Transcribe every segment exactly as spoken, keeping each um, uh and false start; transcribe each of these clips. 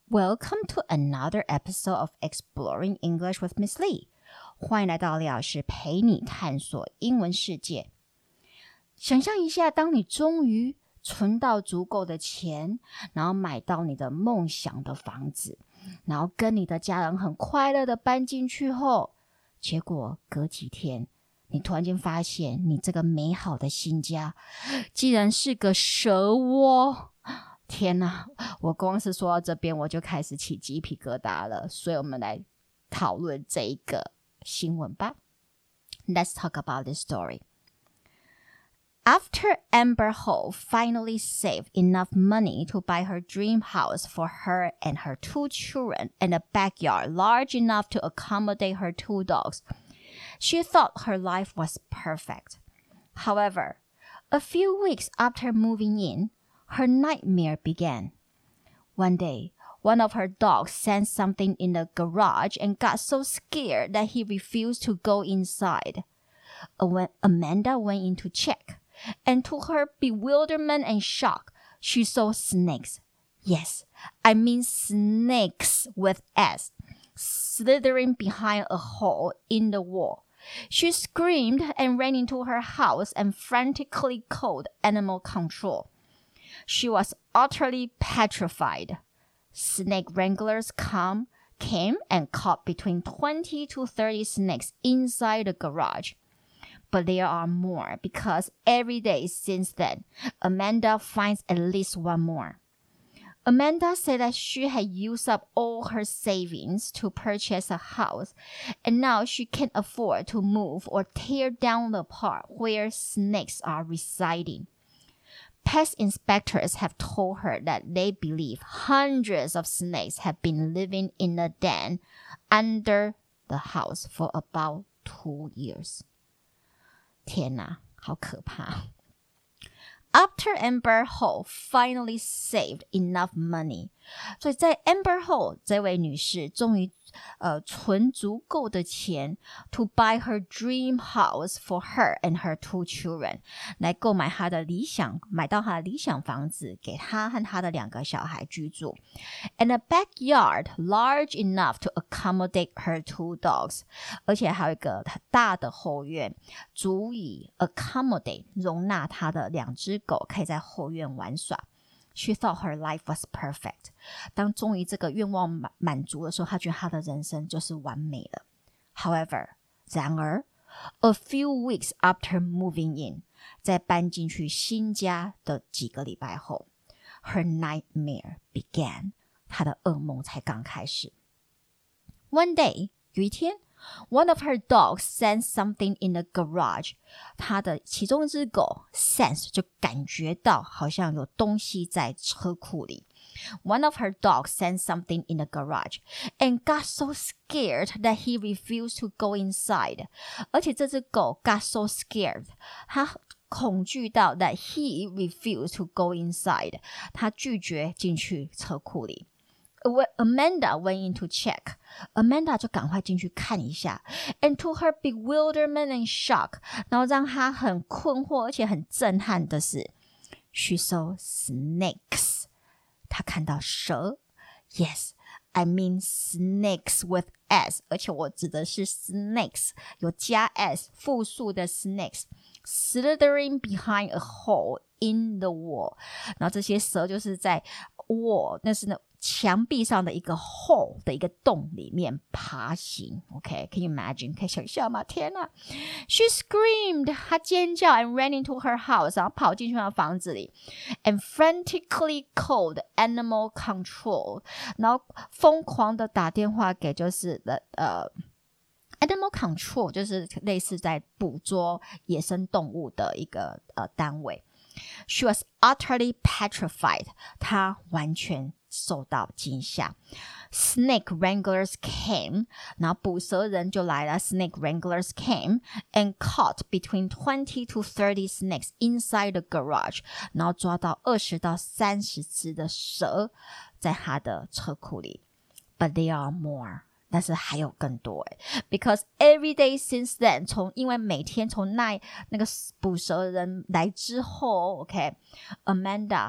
Welcome to another episode of Exploring English with Miss Lee. 歡迎來到李老師陪你探索英文世界。想象一下，當你終於存到足夠的錢，然後買到你的夢想的房子，然後跟你的家人很快樂的搬進去後，結果隔幾天，你突然間發現你這個美好的新家，竟然是個蛇窩。天哪，我光是說到這邊我就開始起雞皮疙瘩了，所以我們來討論這一個新聞吧。Let's talk about this story. After Amber Heard finally saved enough money to buy her dream house for her and her two children and a backyard large enough to accommodate her two dogs, she thought her life was perfect. However, a few weeks after moving in, her nightmare began. One day, one of her dogs sensed something in the garage and got so scared that he refused to go inside. When Amanda went in to check, and to her bewilderment and shock, she saw snakes. Yes, I mean snakes with S, slithering behind a hole in the wall. She screamed and ran into her house and frantically called animal control.She was utterly petrified. Snake wranglers come, came and caught between twenty to thirty snakes inside the garage. But there are more because every day since then, Amanda finds at least one more. Amanda said that she had used up all her savings to purchase a house, and now she can't afford to move or tear down the part where snakes are residing.Pest inspectors have told her that they believe hundreds of snakes have been living in a den under the house for about two years. 天哪，好可怕。After Amber Heard finally saved enough money. 所以在 Amber Heard 這位女士終於呃存足夠的錢 to buy her dream house for her and her two children. 來購買她的理想，買到她的理想房子，給她和她的兩個小孩居住。And a backyard large enough to accommodate her two dogs. 而且還有一個大的後院，足以 accommodate 容納她的兩隻狗可以在後院玩耍。She thought her life was perfect. 當終於這個願望滿滿足的時候，她覺得她的人生就是完美了。However, 然而 a few weeks after moving in, 在搬進去新家的幾個禮拜後 her nightmare began. 她的噩夢才剛開始。One day, 有一天One of her dogs sensed something in the garage. 她的其中一隻狗 sense 就感覺到好像有東西在車庫裡。One of her dogs sensed something in the garage and got so scared that he refused to go inside. 而且這隻狗 got so scared. 它恐懼到 that he refused to go inside. 它拒絕進去車庫裡。When Amanda went in to check, Amanda 就趕快進去看一下 and to her bewilderment and shock, 然後讓她很困惑而且很震撼的是 she saw snakes. 她看到蛇 Yes, I mean snakes with S, 而且我指的是 snakes, 有加 S, 複數的 snakes, slithering behind a hole in the wall. 然後這些蛇就是在 wall, 那是那牆壁上的一個 hole 的一個洞裡面爬行 OK, can you imagine? 可以想象嗎？天哪 She screamed 她尖叫 and ran into her house 然後跑進去她的房子裡 and frantically called animal control 然後瘋狂的打電話給就是呃 animal control 就是類似在捕捉野生動物的一個呃單位 She was utterly petrified 她完全受到驚嚇 Snake wranglers came 然後捕蛇人就來了 Snake wranglers came and caught between twenty to thirty snakes inside the garage 然後抓到二十到三十隻的蛇在他的車庫裡 But there are more但是還有更多誒 Because every day since then 從因為每天從那那個捕蛇人來之後 OK Amanda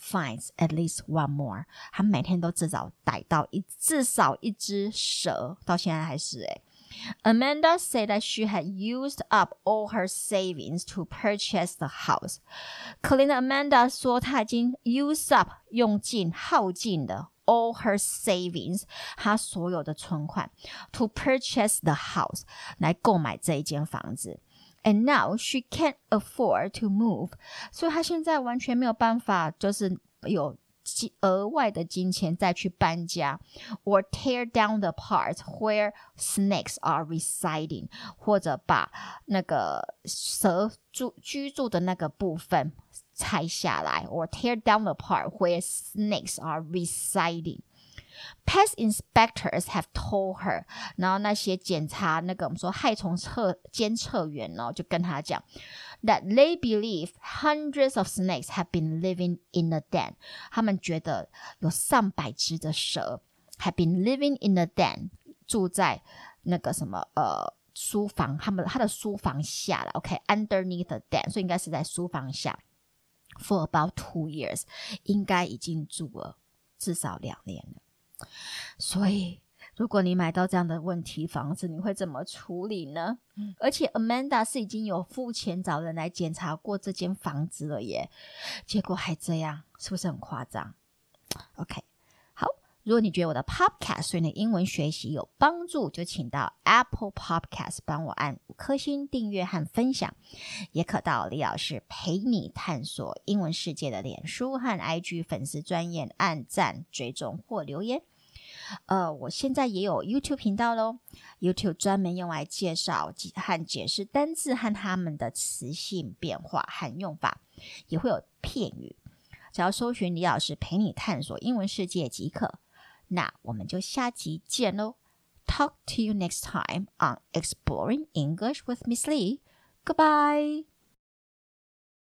finds at least one more. 他每天都至少逮到一至少一隻蛇，到現在還是誒。Amanda said that she had used up all her savings to purchase the house. 可憐的 Amanda 說她已經 use up 用盡耗盡的 all her savings 她所有的存款 to purchase the house 來購買這一間房子。And now she can't afford to move. 所以她現在完全沒有辦法，就是有額外的金錢再去搬家 or tear down the parts where snakes are residing 或者把那個蛇住居住的那個部分拆下來 or tear down the part where snakes are residing. Pest inspectors have told her. 然後那些檢查那個我們說害蟲測監測員哦，就跟他講 that they believe hundreds of snakes have been living in the den. 他們覺得有上百隻的蛇 have been living in the den. 住在那個什麼呃書房，他們他的書房下了 OK underneath the den. 所以應該是在書房下 for about two years. 應該已經住了至少兩年了。所以如果你買到這樣的問題房子，你會怎麼處理呢？嗯、而且 Amanda 是已經有付錢找人來檢查過這間房子了耶，結果還這樣，是不是很誇張？ OK， 好，如果你覺得我的 Podcast 對你的英文學習有幫助，就請到 Apple Podcast 幫我按五顆星訂閱和分享，也可到李老師陪你探索英文世界的臉書和 I G 粉絲專頁按讚、追蹤或留言。呃，我現在也有 YouTube 頻道咯， YouTube 專門用來介紹和解釋單字和它們的詞性變化和用法，也會有片語，只要搜尋李老師陪你探索英文世界即可。那我們就下集見咯。Talk to you next time on Exploring English with Miss Lee. Goodbye.